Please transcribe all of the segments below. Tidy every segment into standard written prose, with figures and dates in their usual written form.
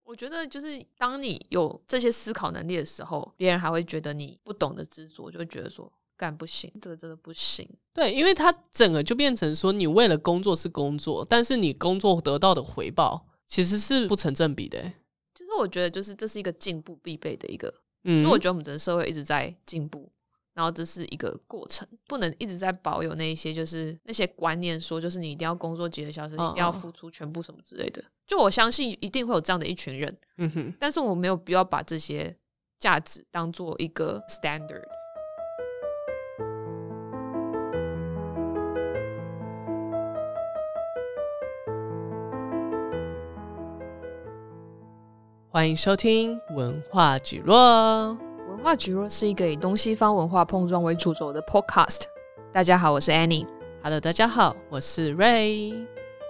我覺得就是當你有這些思考能力的時候，別人還會覺得你不懂得知足，就會覺得說幹不行，這個真的不行。 對，因為它整個就變成說，你為了工作是工作，但是你工作得到的回報其實是不成正比的。 其實我覺得就是這是一個進步必備的一個，所以我覺得我們整個社會一直在進步，然後這是一個過程，不能一直在保有那一些就是那些觀念，說就是你一定要工作幾個小時，你一定要付出全部什麼之類的。就我相信一定會有這樣的一群人，但是我沒有必要把這些價值當做一個 standard。 歡迎收聽文化蒟蒻。 文化蒟蒻是一個以東西方文化碰撞為主軸的 podcast。大家好，我是 Annie。Hello， 大家好，我是 Ray。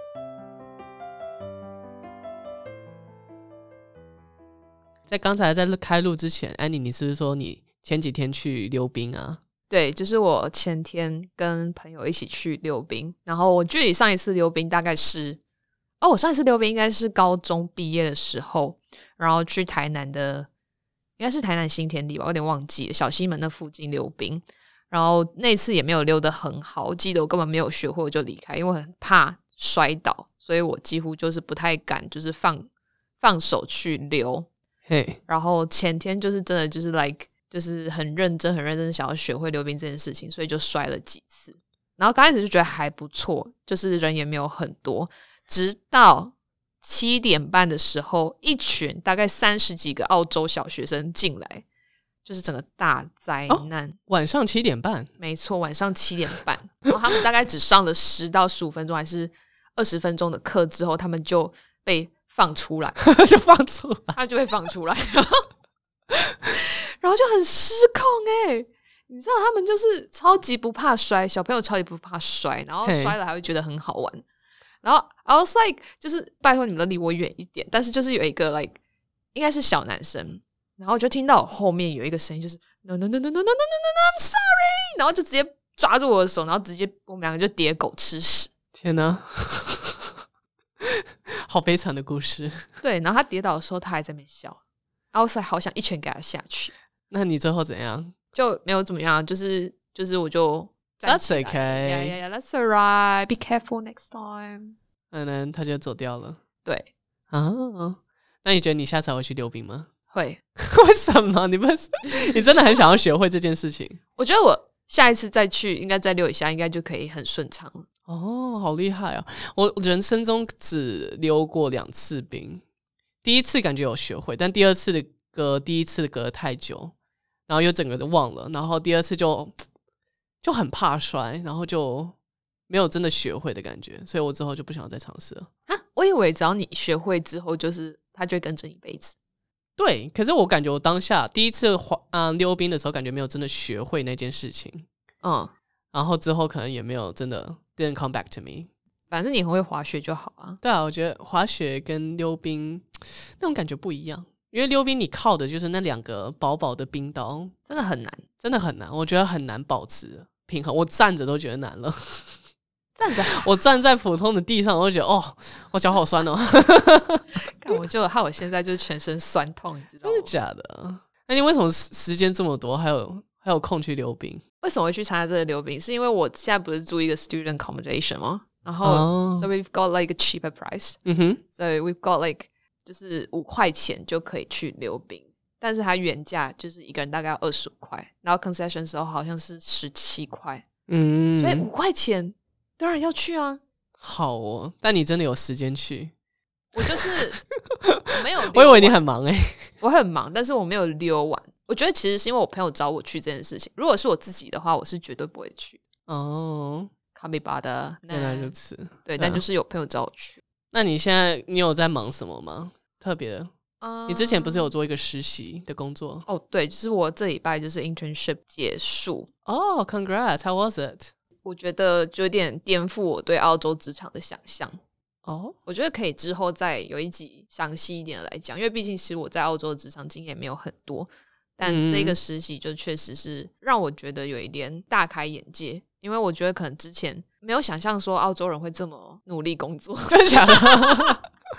在刚才在開錄之前， Annie， 你是不是說你前幾天去溜冰啊？ 對，就是我前天跟朋友一起去溜冰，然後我距離上一次溜冰大概是我上一次溜冰應該是高中畢業的時候，然後去台南的，應該是台南新天地吧，我有點忘記了，小西門那附近溜冰。然後那次也沒有溜得很好，我記得我根本沒有學會，我就離開，因為我很怕摔倒，所以我幾乎就是不太敢，就是放手去溜。然後前天就是真的就是 就是很認真想要學會溜冰這件事情，所以就摔了幾次。然後剛開始就覺得還不錯，就是人也沒有很多。直到7點半的時候，一群大概30幾個澳洲小學生進來，就是整個大災難。 晚上7點半？沒錯，晚上7點半。然後他們大概只上了10到15分鐘還是20分鐘的課之後，他們就被放出来就放出來， 他就被放出来然後就很失控你知道他們就是超級不怕摔，小朋友超級不怕摔，然後摔了還會覺得很好玩。然後 I was like 就是拜託你們都離我遠一點，但是就是有一個 like 應該是小男生，然後就聽到我後面有一個聲音就是 no no no no no no no no no I'm sorry， 然後就直接抓住我的手，然後直接我們兩個就跌狗吃屎。 天哪好悲慘的故事。 对，然後他跌倒的時候他還在那邊笑，I was like 好想一拳給他下去。 那你最後怎樣？ 就沒有怎麼樣，就是我就站起來。 That's okay. Yeah, that's alright. Be careful next time. 他就走掉了。 对啊，那你覺得你下次还會去溜冰嗎？ 會。 為什麼？你真的很想要學會這件事情？ 我覺得我下一次再去，應該再溜一下，應該就可以很順暢了。 好厲害啊！我人生中只溜過2次冰，第一次感覺有學會，但第二次第一次隔得太久，然後又整個都忘了，然後第二次就很怕摔，然後就沒有真的學會的感覺，所以我之後就不想再嘗試了。 我以為只要你學會之後，就是它就會跟着你一輩子。 對，可是我感覺我當下第一次溜冰的時候，感覺沒有真的學會那件事情。然後之後可能也沒有真的 didn't come back to me。 反正你很會滑雪就好啊。 對啊，我覺得滑雪跟溜冰那種感覺不一樣，因為溜冰你靠的就是那2個薄薄的冰刀， 真的很难， 真的很難，我覺得很難保持平衡，我站着都覺得難了。 站着， 我站在普通的地上，我就覺得我腳好酸哦。 看我就害我現在就是全身酸痛，你知道嗎？ 真的假的？那你為什麼時間這麼多，還有空去溜冰？ 為什麼會去參加這個溜冰？是因為我現在不是住一個 student accommodation 嗎？然後so we've got like a cheaper price， so we've got like 就是5塊錢就可以去溜冰，但是它原價就是一個人大概要25塊，然後 concession 的時候好像是17塊，所以5塊錢當然要去啊。好哦， 但你真的有時間去？ 我就是我没有溜完， 我以為你很忙我很忙，但是我沒有溜完。我覺得其實是因為我朋友找我去這件事情，如果是我自己的話，我是絕對不會去。卡比巴的， 原來如此。 對，但就是有朋友找我去。 那你現在有在忙什麼嗎？特別的？你之前不是有做一個實習的工作？ 對，就是我這禮拜就是 internship 結束。 Congrats! How was it? 我覺得就有點顛覆我對澳洲職場的想象。我覺得可以之後再有一集詳細一點的來講，因為畢竟其實我在澳洲的職場經驗沒有很多，但這個實習就確實是讓我覺得有一點大開眼界，因為我覺得可能之前沒有想象說澳洲人會這麼努力工作。 真的假的？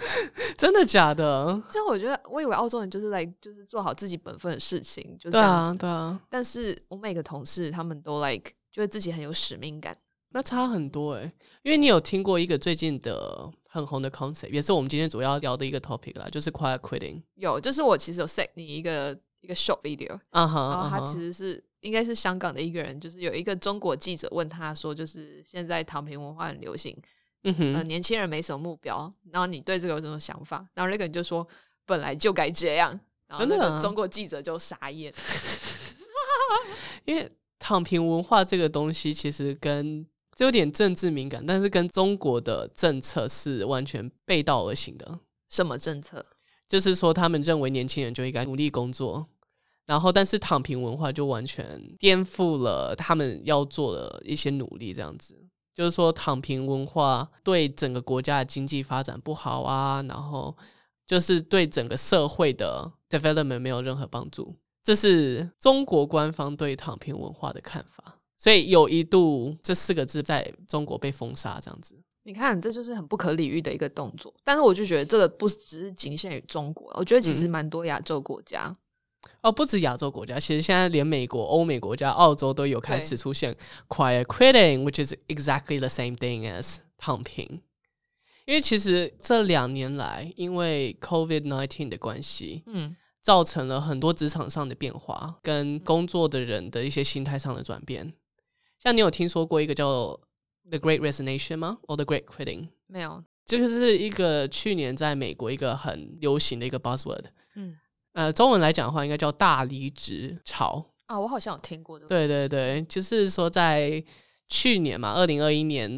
真的假的？ 就我觉得，我以為澳洲人就是就是做好自己本分的事情，就這樣子。 对啊。 但是我每個同事他們都覺得自己很有使命感。 那差很多因為你有聽過一個最近的很紅的 concept， 也是我們今天主要聊的一個 topic 啦，就是 quiet quitting。有，就是我其實有 send 你一個 short video， 然後他其實是應該是香港的一個人，就是有一個中國記者問他說，就是現在躺平文化很流行，年輕人沒什麼目標，然後你對這個有什麼想法？然後那個人就說本來就該這樣，然後那個中國記者就傻眼， 因為躺平文化這個東西其實這有點政治敏感，但是跟中國的政策是完全背道而行的。 什麼政策？ 就是說他們認為年輕人就應該努力工作，然後但是躺平文化就完全顛覆了他們要做的一些努力，這樣子。就是說躺平文化對整個國家的經濟發展不好啊，然後就是对整個社會的 development 沒有任何幫助。這是中國官方對躺平文化的看法。所以有一度這4個字在中國被封殺，這樣子。 你看，這就是很不可理喻的一個動作。但是我就覺得這個不只是僅限於中國，我覺得其實蠻多亞洲國家。 不止亞洲國家，其實現在連美國、歐美國家、澳洲都有開始出現 quiet quitting， which is exactly the same thing as 躺平。因為其實這2年來，因為 COVID-19 的關係，造成了很多職場上的變化，跟工作的人的一些心態上的轉變。像你有聽說過一個叫 The Great Resignation 嗎？ or The Great Quitting？ 沒有，就是一個去年在美國一個很流行的一個 buzzword。中文來講的話，應該叫大離職潮啊。我好像有聽過這個。 對對對，就是說在去年嘛，2021年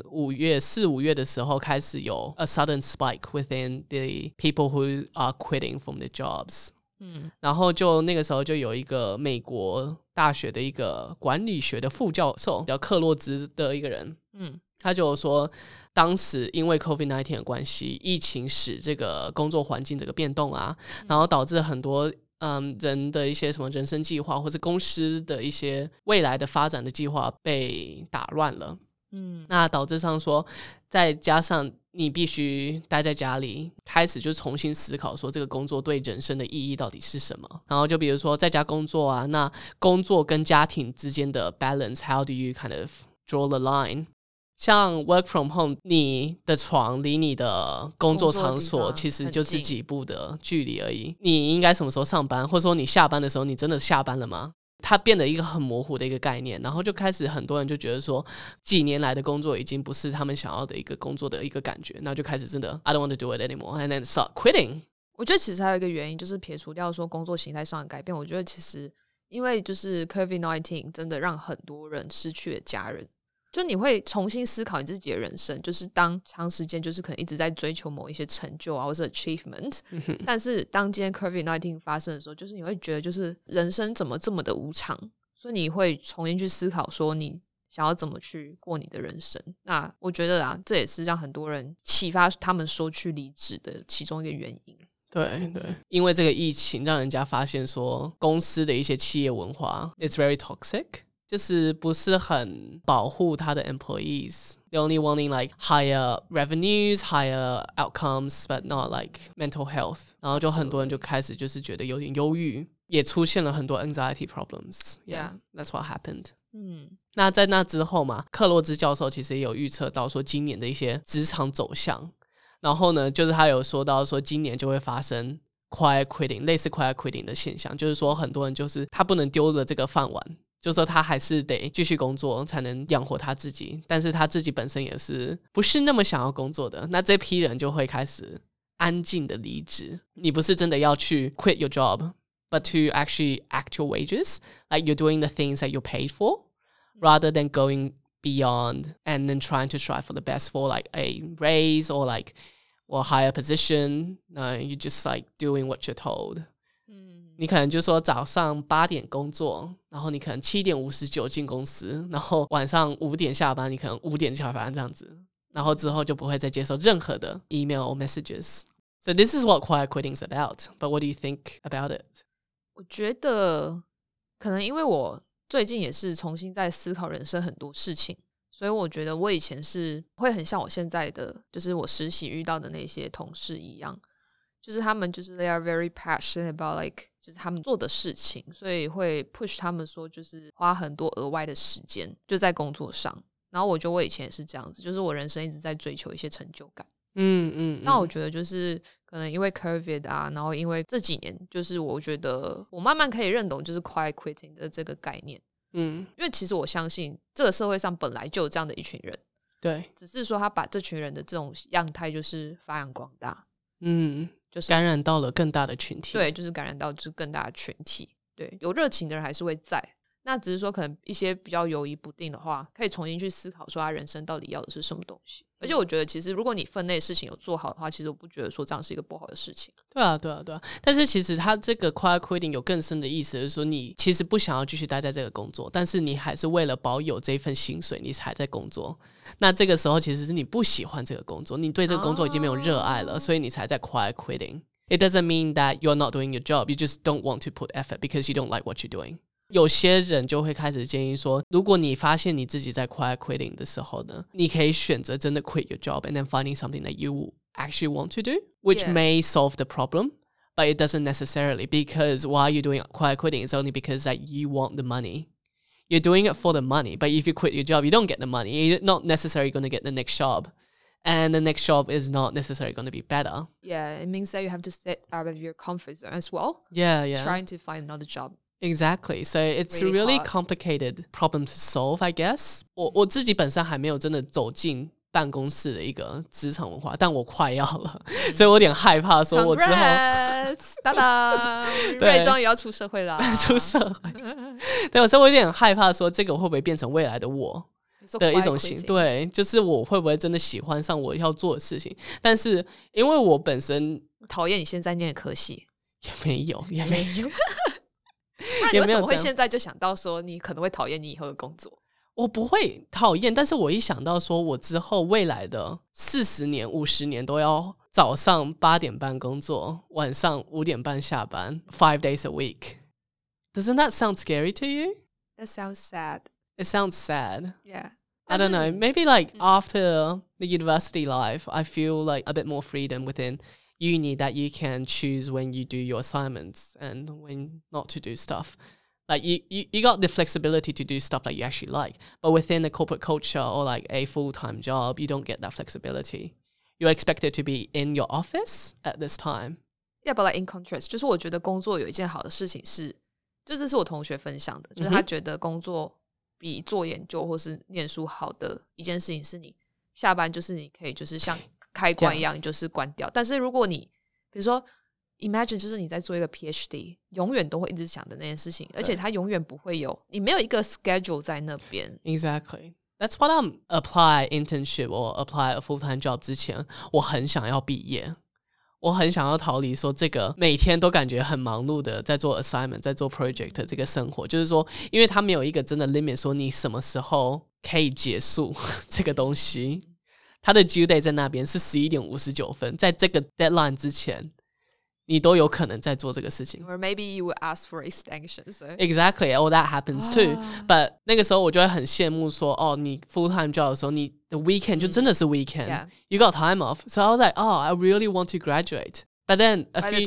4、5月的時候，開始有 a sudden spike within the people who are quitting from the jobs。然後就那個時候就有一個美國大學的一個管理學的副教授叫克洛茲的一個人，他就說當時因為 COVID-19 的關係，疫情使這個工作環境這個變動啊，然後導致很多人的一些什麼人生計劃或是公司的一些未來的發展的計劃被打亂了。那導致上說，再加上你必須待在家裡，開始就重新思考說這個工作對人生的意義到底是什麼。然後就比如說在家工作啊，那工作跟家庭之間的 balance，how do you kind of draw the line？ 像 work from home， 你的床離你的工作場所其實就是幾步的距離而已。你應該什麼時候上班，或者說你下班的時候，你真的下班了嗎？它變得一個很模糊的一個概念，然後就開始很多人就覺得說，幾年來的工作已經不是他們想要的一個工作的一個感覺，然後就開始真的 I don't want to do it anymore and then start quitting。 我覺得其實還有一個原因，就是撇除掉說工作形態上的改變，我覺得其實因為就是 COVID-19 真的讓很多人失去了家人，就你會重新思考你自己的人生，就是当長時間就是可能一直在追求某一些成就啊，或是 achievement，但是當今天 COVID-19 發生的時候，就是你會覺得就是人生怎麼這麼的無常，所以你會重新去思考說你想要怎麼去過你的人生。那我覺得啊，這也是讓很多人啟發他們說去離職的其中一個原因。 對对，因為這個疫情讓人家發現說公司的一些企業文化 it's very toxic，就是不是很保護他的 employees. They're only wanting like higher revenues, higher outcomes, but not like mental health. 然後就很多人就開始就是覺得有點憂鬱，也出現了很多 anxiety problems. Yeah, that's what happened. 那在那之後嘛，克洛茲教授其實也有預測到說今年的一些職場走向。然後呢，就是他有說到說今年就會發生 quiet quitting， 類似 quiet quitting 的現象，就是說很多人就是他不能丟了這個飯碗，就是說他還是得繼續工作才能養活他自己，但是他自己本身也是不是那麼想要工作的，那這批人就會開始安靜的離職。你不是真的要去 quit your job, but to actually act your wages, like you're doing the things that you're paid for, rather than going beyond and then trying to strive for the best for like a raise or like or higher position. No, you're just like doing what you're told. 你可能就說早上8點工作，然後你可能7點59進公司，然後晚上5點下班，你可能5點下班這樣子，然後之後就不會再接受任何的 email or messages. So this is what quiet quitting is about. But what do you think about it? 我覺得可能因為我最近也是重新在思考人生很多事情， 所以我覺得我以前是會很像我現在的，就是我實習遇到的那些同事一樣，就是他們就是 they are very passionate about like 就是他們做的事情，所以會 push 他們說就是花很多額外的時間就在工作上。然後我覺得我以前也是這樣子，就是我人生一直在追求一些成就感。那我覺得就是可能因為 COVID 啊，然後因為這幾年就是我覺得我慢慢可以認同就是 quiet quitting 的這個概念。因為其實我相信這個社會上本來就有這樣的一群人， 對， 只是說他把這群人的這種樣態就是發揚光大，就是感染到了更大的群體， 對，就是感染到就是更大的群體，对，有熱情的人還是會在，那只是說可能一些比較猶疑不定的話，可以重新去思考說他人生到底要的是什麼東西。而且我覺得其實如果你分內的事情有做好的話，其實我不覺得說這樣是一個不好的事情。 对啊。但是其實他這個 quiet quitting 有更深的意思，就是說你其實不想要繼續待在這個工作，但是你還是為了保有這份薪水你才在工作。那這個時候其實是你不喜歡這個工作，你對這個工作已經沒有熱愛了，所以你才在 quiet quitting。It doesn't mean that you're not doing your job, you just don't want to put effort because you don't like what you're doing。有些人就會開始建議說，如果你發現你自己在 quiet quitting 的時候呢，你可以選擇真的 quit your job and then finding something that you actually want to do, which may solve the problem, but it doesn't necessarily, because why you're doing quiet quitting is only because that you want the money. You're doing it for the money, but if you quit your job, you don't get the money. You're not necessarily going to get the next job. And the next job is not necessarily going to be better. Yeah, it means that you have to step out of your comfort zone as well. Yeah. Trying to find another job.Exactly, so it's a really complicated problem to solve, I guess. 我自己本身還沒有真的走進辦公室的一個職場文化，但我快要了，所以我有點害怕說我之後噠噠瑞莊也要出社會啦。 出社會。對，所以我有點害怕說這個會不會變成未來的我的一種型，對，就是我會不會真的喜歡上我要做的事情。但是因為我本身討厭你現在念的科系， 也沒有不然你為什麼會現在就想到說你可能會討厭你以後的工作？ 我不會討厭，但是我一想到說我之後未來的40年50年都要早上8點半工作，晚上5點半下班 5 days a week. Doesn't that sound scary to you? That sounds sad. It sounds sad. Yeah. I don't know. Maybe like after the university life, I feel like a bit more freedom within uni that you can choose when you do your assignments and when not to do stuff. Like you got the flexibility to do stuff that you actually like, but within a corporate culture or like a full-time job, you don't get that flexibility. You're expected to be in your office at this time. Yeah, but like in contrast, 就是我覺得工作有一件好的事情是，就這是我同學分享的，就是他覺得工作比做研究或是念書好的一件事情是你下班就是你可以就是像開關一樣，你就是關掉。但是如果你比如說 imagine 就是你在做一個 PhD， 永遠都會一直想的那件事情，而且它永遠不會有，你沒有一個 schedule 在那邊。 Exactly. That's what I'm apply internship or apply a full-time job 之前，我很想要畢業，我很想要逃離說這個每天都感覺很忙碌的在做 assignment 在做 project 這個生活，就是說因為它沒有一個真的 limit 說你什麼時候可以結束這個東西，它的 due date 在那邊是11點59分，在這個 deadline 之前你都有可能在做這個事情。 Or maybe you would ask for extension. So. Exactly. Oh, that happens too. But 那個時候我就會很羨慕說，哦，你 full time job 的時候，你的 weekend 就真的是 weekend. Yeah. You got time off. So I was like, oh, I really want to graduate. But then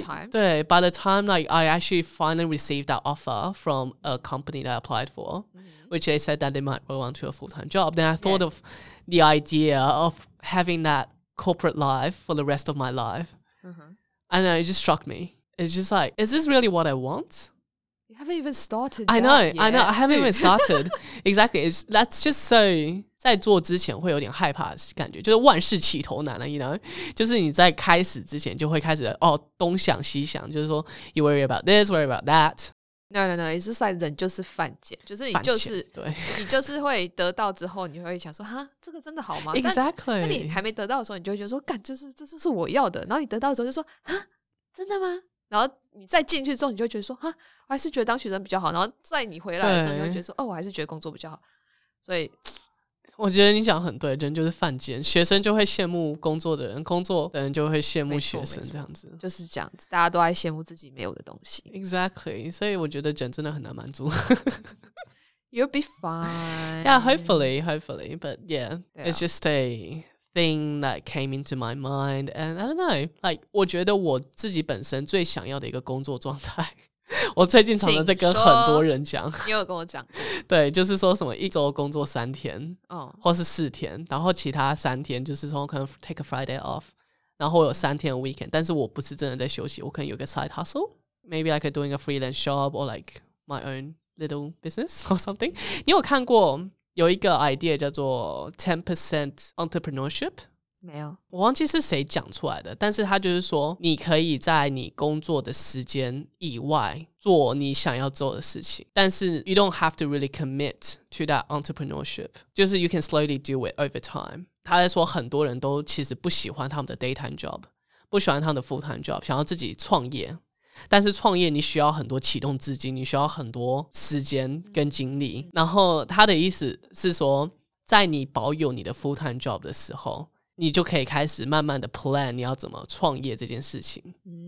by the time like I actually finally received that offer from a company that I applied for, which they said that they might go on to a full time job. Then I thought of the idea of having that corporate life for the rest of my life. I know, it just struck me. It's just like, is this really what I want? You haven't even started. I know. I haven't even started. Exactly. That's just so. 在做之前会有點害怕的感覺，就是萬事起頭難了 you know? 就是你在開始之前就會開始東想西想，就是說 you worry about this, worry about that. No, it's just like 人就是犯賤，就是你就是會得到之後，你會想說哈，這個真的好嗎？ Exactly. 那你還沒得到的時候，你就會覺得說，幹，這就是我要的。然後你得到的時候就說，哈，真的嗎？然後你再進去之後，你就會覺得說，哈，我還是覺得當學生比較好。然後在你回來的時候，你會覺得說，我還是覺得工作比較好。所以我覺得你講很對，人就是犯賤，學生就會羨慕工作的人，工作的人就會羨慕學生，這樣子就是這樣子，大家都愛羨慕自己沒有的東西。 Exactly， 所以我覺得人真的很難滿足。 You'll be fine. Yeah, hopefully. But yeah, it's just a thing that came into my mind. And I don't know, like 我覺得我自己本身最想要的一個工作狀態，我最近常常在跟很多人講，你有跟我講，對，就是說什麼一周工作3天，或是4天，然後其他3天就是說可能 take a Friday off， 然後我有3天的 weekend， 但是我不是真的在休息，我可能有個 side hustle，maybe like doing a freelance job or like my own little business or something。 你有看過有一個 idea 叫做 10% entrepreneurship？沒有，我忘記是誰講出來的，但是他就是說你可以在你工作的時間以外做你想要做的事情，但是 you don't have to really commit to that entrepreneurship， 就是 you can slowly do it over time。 他在說很多人都其實不喜歡他們的 daytime job， 不喜歡他們的 full-time job， 想要自己創業，但是創業你需要很多啟動資金，你需要很多時間跟精力，然後他的意思是說在你保有你的 full-time job 的時候，你就可以開始慢慢的 plan 你要怎麼創業這件事情。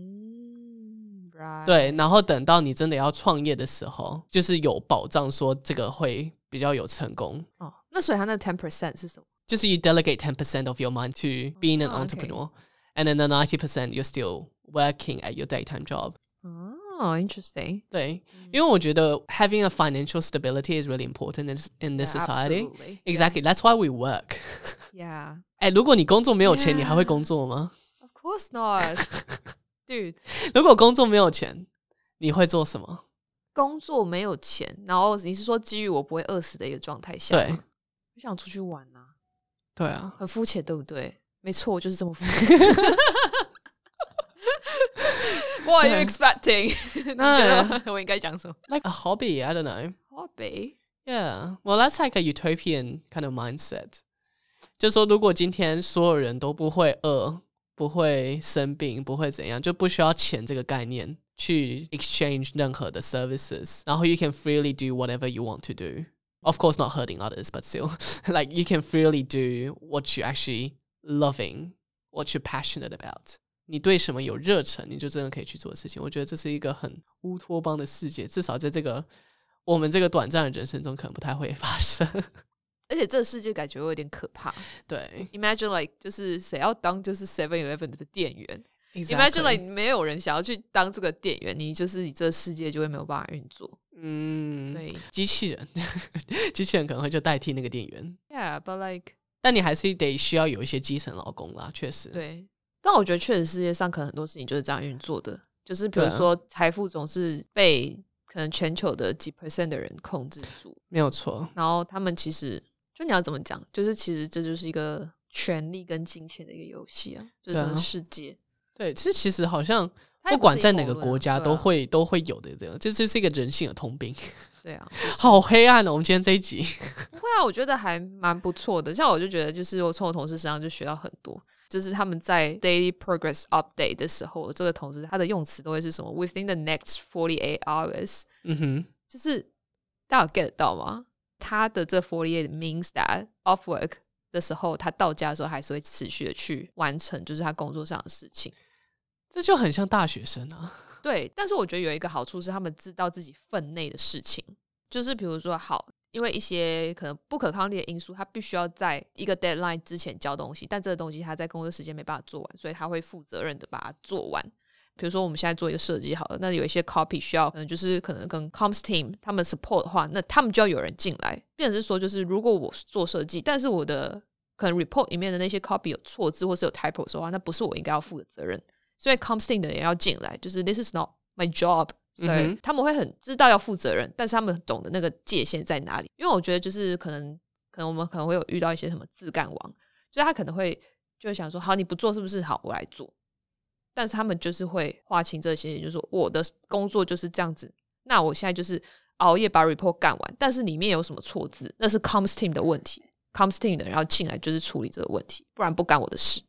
Right. 對，然後等到你真的要創業的時候，就是有保障說這個會比較有成功。 那所以他那 10% 是什麼？就是 you delegate 10% of your mind to being an entrepreneur， and then the 90% you're still working at your daytime job. Interesting. 對，因為我覺得 having a financial stability is really important in this society. Absolutely. Exactly. That's why we work. Yeah. 如果你工作沒有錢，你還會工作嗎？ Of course not. Dude. 如果工作沒有錢，你會做什麼？ 工作沒有錢，然後你是說基於我不會餓死的一個狀態下嗎？對，我想出去玩啊。 對啊， 很膚淺，對不對？沒錯，我就是這麼膚淺。What are you expecting? 你覺得我應該講什麼？ Like a hobby, I don't know. Hobby? Yeah. Well, that's like a utopian kind of mindset. 就是說如果今天所有人都不會餓，不會生病，不會怎樣，就不需要錢這個概念去 exchange 任何的 services， 然後 you can freely do whatever you want to do. Of course not hurting others, but still. Like you can freely do what you actually loving, what you're passionate about. 你對什麼有熱忱，你就真的可以去做的事情。我覺得這是一個很烏托邦的世界，至少在這個我們這個短暫的人生中可能不太會發生。 而且這個世界感覺有點可怕。 對 ，Imagine like 就是誰要當就是 7-Eleven 的店員。 Exactly. Imagine like 沒有人想要去當這個店員，你這個世界就會沒有辦法運作。所以機器人可能會就代替那個店員。 Yeah, but like 但你還是得需要有一些基層勞工啦，確實。 對。但我覺得確實世界上可能很多事情就是這樣運作的，就是比如說財富總是被可能全球的幾%的人控制住， 沒有錯。然後他們其實就你要怎麼講，就是其實這就是一個權力跟金錢的一個遊戲啊，就是這個世界。 對，這其實好像不管在哪個國家都會有的，這樣這就是一個人性的通病。 對啊，就是、 好黑暗哦！我們今天這一集不會啊，我覺得還蠻不錯的。像我就覺得，就是我從我同事身上就學到很多。就是他們在 daily progress update 的時候，這個同事他的用詞都會是什麼 within the next 48 hours。就是大家有 get 到嗎？他的這48 means that off work 的時候，他到家的時候還是會持續的去完成，就是他工作上的事情。 這就很像大學生啊。 對，但是我覺得有一個好處是，他們知道自己分內的事情，就是比如說好。因為一些可能不可抗力的因素，他必須要在一個 deadline 之前交東西，但這個東西他在工作時間沒辦法做完，所以他會負責任的把它做完。比如說我們現在做一個設計好了，那有一些 copy 需要可能跟 comms team 他們 support 的話，那他們就要有人進來，變成是說就是如果我做設計，但是我的可能 report 裡面的那些 copy 有錯字或是有 typo 的話，那不是我應該要負的責任，所以 comms team 的人也要進來，就是 this is not my job。所以他們會很知道要負責任，但是他們懂得那個界限在哪裡。因為我覺得就是可能我們可能會有遇到一些什麼自幹王，所以他可能就會想說，好，你不做是不是？好，我來做。但是他們就是會劃清這些，就是說我的工作就是這樣子。那我現在就是熬夜把 report 幹完，但是裡面有什麼錯字，那是 comms team 的問題。comms team 的人要進來就是處理這個問題，不然不干我的事。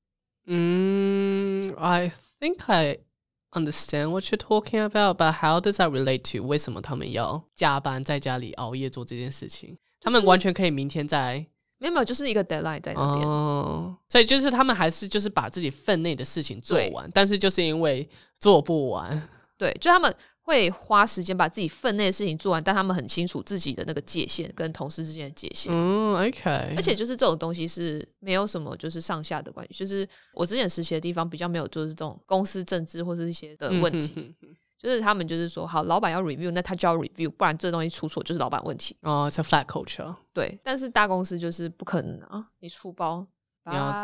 I think I understand what you're talking about, but how does that relate to 為什麼他們要加班在家裡熬夜做這件事情？他們完全可以明天再沒有，就是一個 deadline 在那邊。 所以就是他們還是就是把自己分內的事情做完，但是就是因為做不完， 對，就他們會花時間把自己分內的事情做完，但他們很清楚自己的那個界限跟同事之間的界限。 OK。 而且就是这種東西是没有什麼就是上下的關係，就是我之前實習的地方比較沒有就是這種公司政治或是一些的問題。就是他們就是說，好，老闆要 review， 那他就要 review， 不然這東西出錯就是老闆問題。 哦，it's a flat culture。 對，但是大公司就是不可能啊，你出包， 你要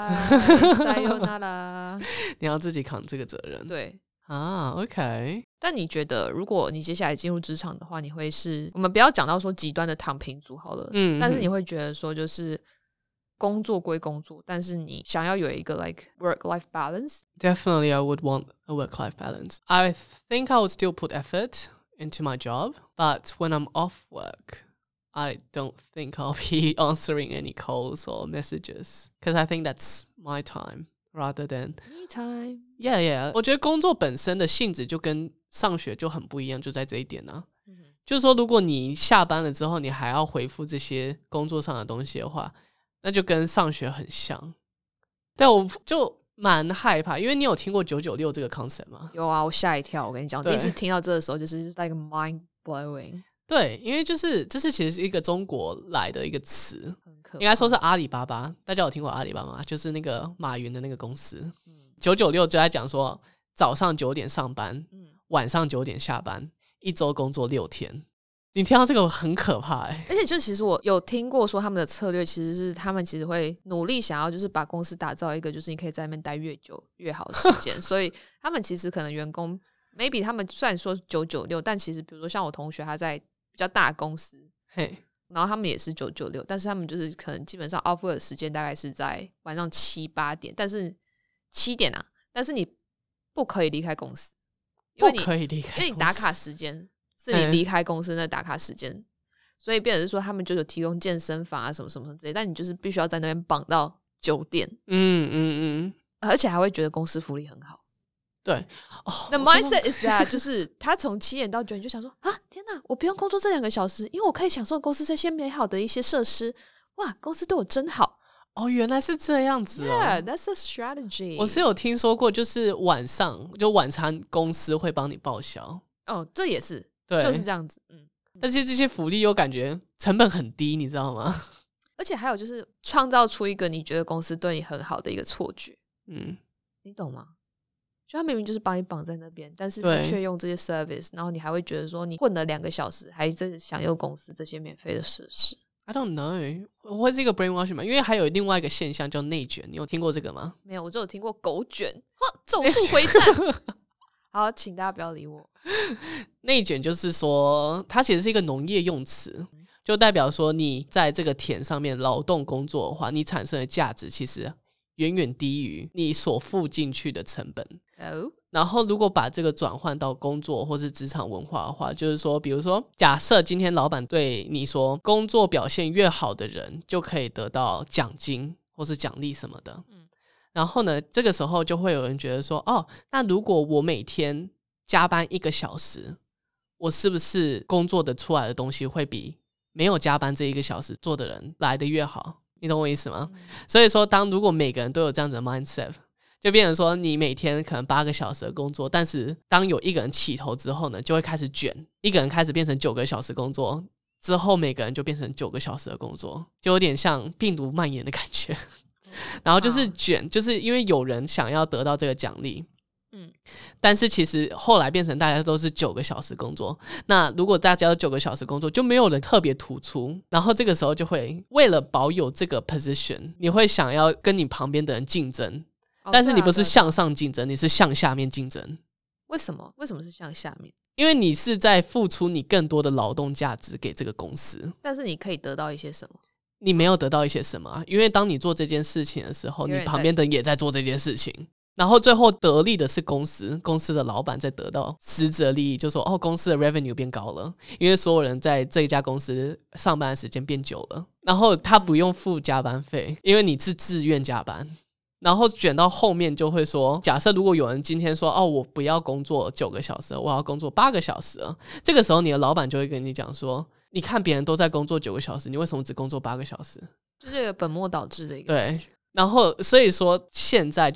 你要自己扛這個責任。 對啊 ，OK。但你覺得，如果你接下來進入職場的話，你會是我們不要講到說極端的躺平族好了，但是你會覺得說就是工作歸工作，但是你想要有一個 like work-life balance? Definitely, I would want a work-life balance. I think I would still put effort into my job, but when I'm off work, I don't think I'll be answering any calls or messages because I think that's my time rather than me time. Yeah, yeah. 我覺得工作本身的性質就跟上學就很不一樣，就在這一點呢。就是說，如果你下班了之後，你還要回復這些工作上的東西的話，那就跟上學很像，但我就蠻害怕，因為你有聽過996這個 concept 嗎？ 有啊，我嚇一跳。我跟你講，第一次聽到這個時候，就是 like mind blowing。對， 因為就是這是其實是一個中國來的一個詞，應該說是阿里巴巴。大家有聽過阿里巴巴嗎？就是那個馬雲的那個公司。996就在講說，早上9點上班，晚上9點下班，一周工作6天。你聽到這個很可怕而且就其實我有聽過說他們的策略其實是他們其實會努力想要就是把公司打造一個就是你可以在那邊待越久越好的時間所以他們其實可能員工 maybe 他們雖然說996，但其實比如說像我同學他在比較大的公司，然後他們也是996，但是他們就是可能基本上 off work 的時間大概是在晚上7、8點，但是7點啊，但是你不可以離開公司， 不可以離開公司， 因為你打卡時間是你離開公司的打卡時間，所以變成是说他們就有提供健身房啊什麼什麼之類，但你就是必須要在那邊綁到9點，而且還會覺得公司福利很好。 對 ，The mindset is that 就是他從7點到9點就想說啊，天哪，我不用工作這2個小時，因為我可以享受公司這些美好的一些設施，哇，公司對我真好。 哦，原來是這樣子哦。 Yeah, that's a strategy。 我是有聽說過，就是晚上就晚餐公司會幫你報銷。 哦，這也是。 對， 就是這樣子， 但是這些福利又感覺成本很低，你知道嗎？ 而且還有就是創造出一個你覺得公司對你很好的一個錯覺，你懂嗎？就他明明就是把你綁在那邊，但是你卻用這些 service， 然後你還會覺得說你混了2個小時，還在享用公司這些免費的設施。 I don't know， 會是一個 brainwashing 嗎？因為還有另外一個現象叫內卷，你有聽過這個嗎？ 沒有，我就有聽過狗卷，咒術回戰。好，請大家不要理我。 內卷就是說，它其實是一個農業用詞，就代表說你在這個田上面勞動工作的話，你產生的價值其實遠遠低於你所付進去的成本。然後如果把這個轉換到工作或是職場文化的話，就是說，比如說，假設今天老闆對你說，工作表現越好的人就可以得到獎金或是獎勵什麼的。然後呢，這個時候就會有人覺得說，哦，那如果我每天加班1個小時，我是不是工作的出來的東西會比沒有加班這1個小時做的人來得越好？你懂我意思嗎？所以說，如果每個人都有這樣子的 mindset， 就變成說，你每天可能8個小時的工作，但是當有一個人起頭之後呢，就會開始捲，一個人開始變成9個小時工作，之後每個人就變成9個小時的工作，就有點像病毒蔓延的感覺。然後就是捲，就是因為有人想要得到這個獎勵，但是其實後來變成大家都是9個小時工作。那如果大家都9個小時工作，就沒有人特別突出，然後這個時候就會為了保有這個 position， 你會想要跟你旁邊的人競爭，但是你不是向上競爭，你是向下面競爭。 為什麼？為什麼是向下面？ 因為你是在付出你更多的勞動價值給這個公司， 但是你可以得到一些什麼？ 你沒有得到一些什麼，因為當你做這件事情的時候，你旁邊的人也在做這件事情，然後最後得利的是公司的老闆在得到實質的利益，就說公司的 revenue 變高了，因為所有人在這一家公司上班的時間變久了，然後他不用付加班費，因為你是自願加班。然後捲到後面就會說，假設如果有人今天說我不要工作9個小時，我要工作8個小時了，這個時候你的老闆就會跟你講說，你看別人都在工作9個小時，你為什麼只工作8個小時？ 就是一個本末倒置的一個。 對，然後所以說現在就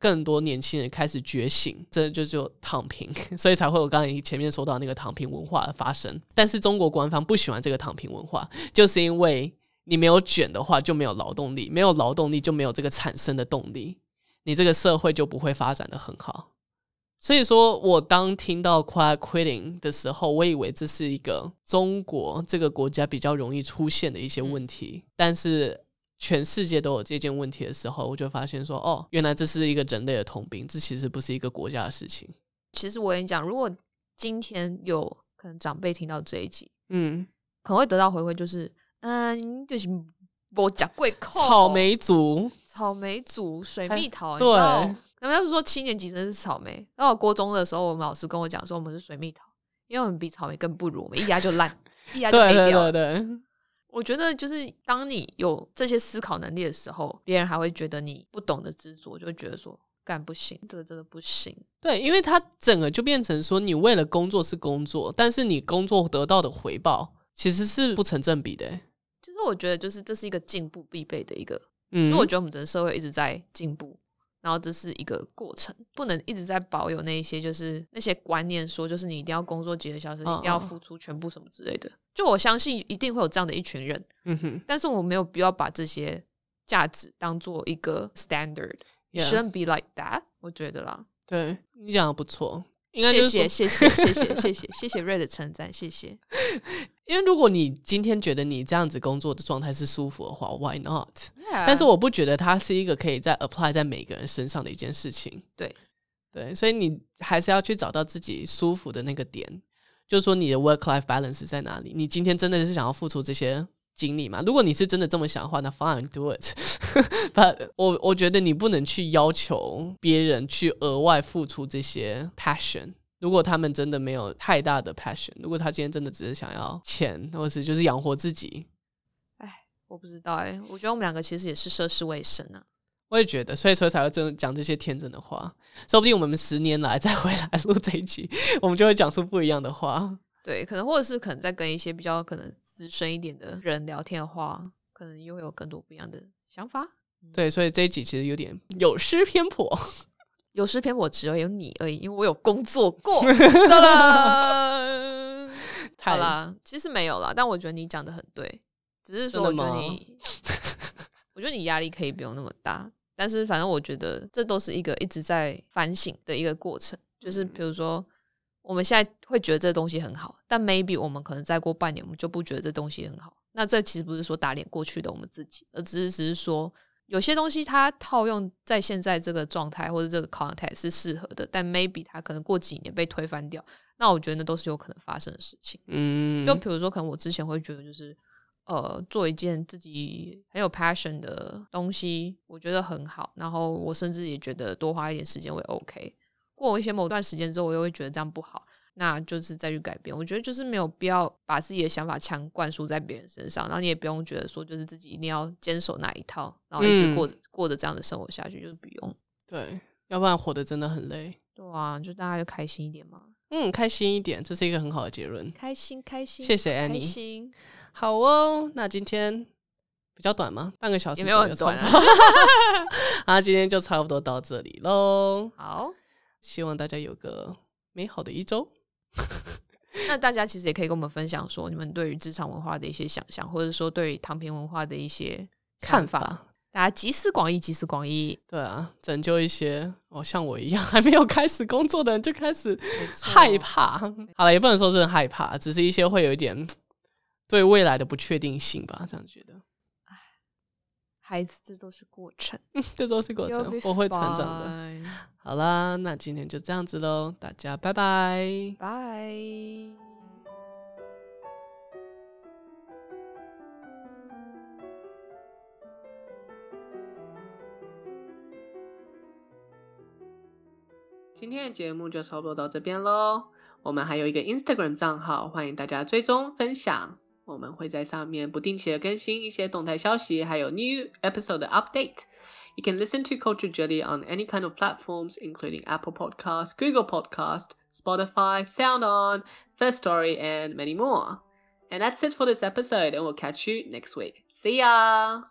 更多年輕人開始覺醒，這就躺平，所以才會有剛才前面說到那個躺平文化的發生。但是中國官方不喜歡這個躺平文化，就是因為你沒有捲的話就沒有勞動力，沒有勞動力就沒有這個產生的動力，你這個社會就不會發展得很好。所以說我當聽到 quiet quitting 的時候，我以為這是一個中國這個國家比較容易出現的一些問題，但是全世界都有這件問題的時候，我就發現說，哦，原來這是一個人類的通病，這其實不是一個國家的事情。 其實我跟你講，如果今天有可能長輩聽到這一集，可能會得到回饋，就是就是沒吃過苦， 草莓族， 水蜜桃， 對， 他們不是說7年級生是草莓，然後我國中的時候，我們老師跟我講說我們是水蜜桃，因為我們比草莓更不如，我們一壓就爛，一壓就黑掉了。對。我覺得就是當你有這些思考能力的时候，別人還會覺得你不懂得執着，就會覺得說幹不行，這個真的不行。 對，因為它整個就變成說你為了工作是工作，但是你工作得到的回報其實是不成正比的。 其實我覺得就是這是一個進步必備的一個，所以我觉得我們整個社會一直在进步，然後這是一個過程，不能一直在保有那一些就是那些觀念，說就是你一定要工作幾個小時，你一定要付出全部什麼之類的。就我相信一定會有這樣的一群人，但是我沒有必要把這些價值當做一個 standard， It shouldn't be like that， 我覺得啦。 對，你講的不錯，應該就是謝謝Ray 的稱讚，謝謝。 因為如果你今天覺得你這樣子工作的狀態是舒服的話 ，Why not？ 但是我不覺得它是一個可以再 apply 在每個人身上的一件事情。对，所以你還是要去找到自己舒服的那個點，就是說你的 work-life balance 在哪裡？你今天真的是想要付出這些精力嗎？如果你是真的這麼想的話，那 fine do it 。But 我覺得你不能去要求別人去額外付出這些 passion。如果他們真的沒有太大的 passion， 如果他今天真的只是想要錢，或是就是養活自己， 我不知道我覺得我們兩個其實也是涉世未深啊。 我也覺得，所以才會講這些天真的話。說不定我們10年來再回來錄這一集，我們就會講出不一樣的話。 對，可能或者是可能在跟一些比較可能資深一點的人聊天的話，可能又會有更多不一樣的想法。 對，所以這一集其實有點有失偏頗。 有失偏頗只有你而已，因為我有工作過。好啦，其實沒有啦，但我覺得你講的很對，只是說我覺得你壓力可以不用那麼大，但是反正我覺得這都是一個一直在反省的一個過程，就是比如說我們現在會覺得這東西很好，但 maybe 我們可能再過半年我們就不覺得這東西很好，那這其實不是說打臉過去的我們自己，而只是說有些東西它套用在現在這個狀態或者這個 context 是適合的，但 maybe 它可能過幾年被推翻掉，那我覺得那都是有可能發生的事情。就比如說可能我之前会觉得就是做一件自己很有 passion 的東西我觉得很好，然後我甚至也觉得多花一點時間會 OK， 過一些某段時間之後我又會覺得這樣不好，那就是再去改變。我覺得就是沒有必要把自己的想法強灌輸在別人身上，然後你也不用覺得說就是自己一定要堅守那一套，然後一直過着這樣的生活下去，就是不用。对， 要不然活得真的很累。 对啊，就大家就開心一點嘛。 開心一點，這是一個很好的結論。 開心， 謝謝 Annie。 開心。 好哦，那今天比較短嗎？半個小時也沒有很短啊。今天就差不多到這裡咯。 好， 希望大家有個美好的一周。 那大家其實也可以跟我們分享說你們對於職場文化的一些想象，或者說對於躺平文化的一些看法。大家集思廣益，集思廣益。對啊，拯救一些像我一樣還沒有開始工作的人就開始害怕。好了，也不能說真的害怕，只是一些會有一點對未來的不確定性吧，這樣覺得。 孩子，這都是過程。 這都是過程，我會成長的。好啦，那今天就這樣子咯，大家拜拜。 拜。 今天的節目就差不多到這邊咯，我們還有一個 Instagram 賬號，歡迎大家追蹤分享，我們會在上面不定期的更新一些動態消息，還有 new episode 的 update. You can listen to Culture Jelly on any kind of platforms, including Apple Podcasts, Google Podcasts, Spotify, SoundOn, First Story, and many more. And that's it for this episode, and we'll catch you next week. See ya!